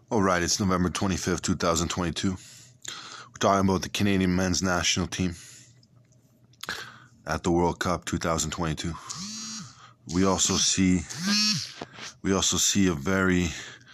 All right, it's November 25th, 2022. We're talking about the Canadian men's national team at the World Cup 2022. We also see a very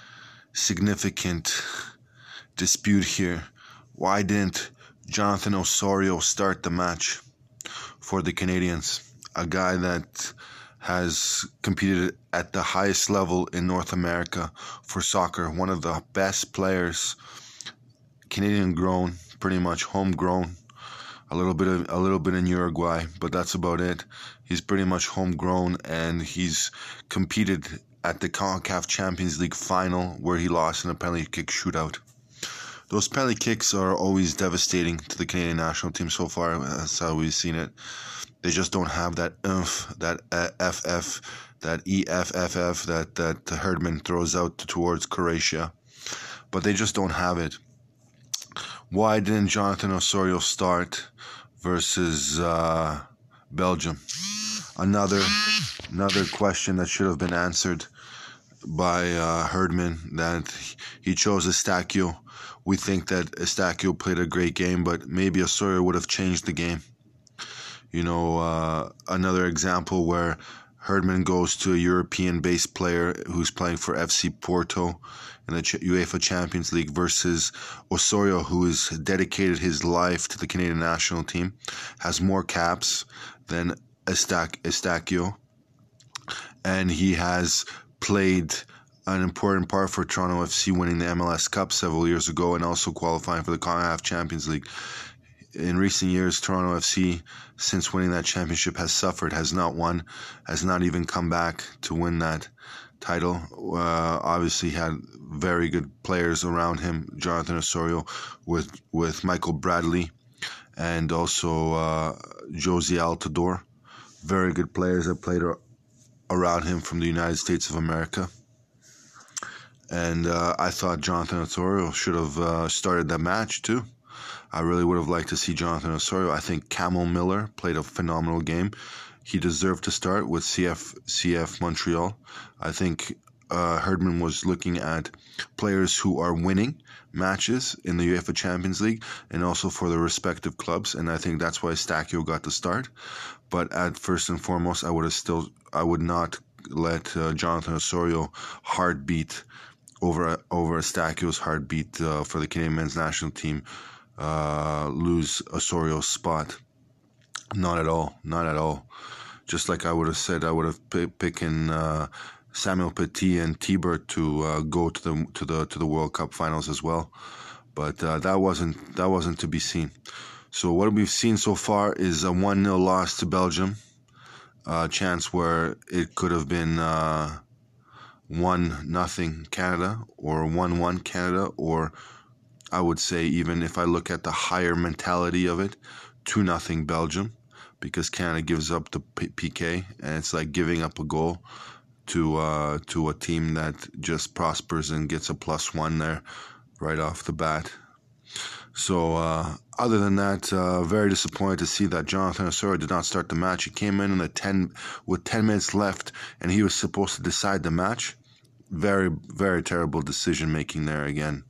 significant dispute here. Why didn't Jonathan Osorio start the match for the Canadians? A guy that has competed at the highest level in North America for soccer, one of the best players, Canadian grown, pretty much homegrown, a little bit in Uruguay, but that's about it. He's pretty much homegrown, and he's competed at the CONCACAF Champions League final where he lost in a penalty kick shootout. Those penalty kicks are always devastating to the Canadian national team so far. That's how we've seen it. They just don't have that oomph, that FF, that EFFF that Herdman throws out towards Croatia. But they just don't have it. Why didn't Jonathan Osorio start versus Belgium? Another question that should have been answered by Herdman, that he chose Eustáquio. We think that Eustáquio played a great game, but maybe Osorio would have changed the game. You know, another example where Herdman goes to a European-based player who's playing for FC Porto in the UEFA Champions League versus Osorio, who has dedicated his life to the Canadian national team, has more caps than Eustáquio, and he has played an important part for Toronto FC winning the MLS Cup several years ago and also qualifying for the CONCACAF Champions League. In recent years, Toronto FC, since winning that championship, has suffered, has not won, has not even come back to win that title. Obviously had very good players around him, Jonathan Osorio, with Michael Bradley and also Josie Altidore. Very good players that played around him from the United States of America. And I thought Jonathan Osorio should have started that match too. I really would have liked to see Jonathan Osorio. I think Camel Miller played a phenomenal game. He deserved to start with CF Montreal. I think Herdman was looking at players who are winning matches in the UEFA Champions League and also for their respective clubs, and I think that's why Eustáquio got the start. But at first and foremost, I would not let Jonathan Osorio heartbeat over Eustáquio's heartbeat for the Canadian men's national team lose Osorio's spot. Not at all. Just like I would have said, I would have picking Samuel Petit and Tibert to go to the World Cup finals as well, but that wasn't to be seen. So what we've seen so far is a 1-0 loss to Belgium, a chance where it could have been 1-0 Canada or 1-1 Canada, or I would say, even if I look at the higher mentality of it, 2-0 Belgium, because Canada gives up the PK, and it's like giving up a goal to a team that just prospers and gets a +1 there right off the bat. So other than that, very disappointed to see that Jonathan Osorio did not start the match. He came in with 10 minutes left, and he was supposed to decide the match. Very, very terrible decision making there again.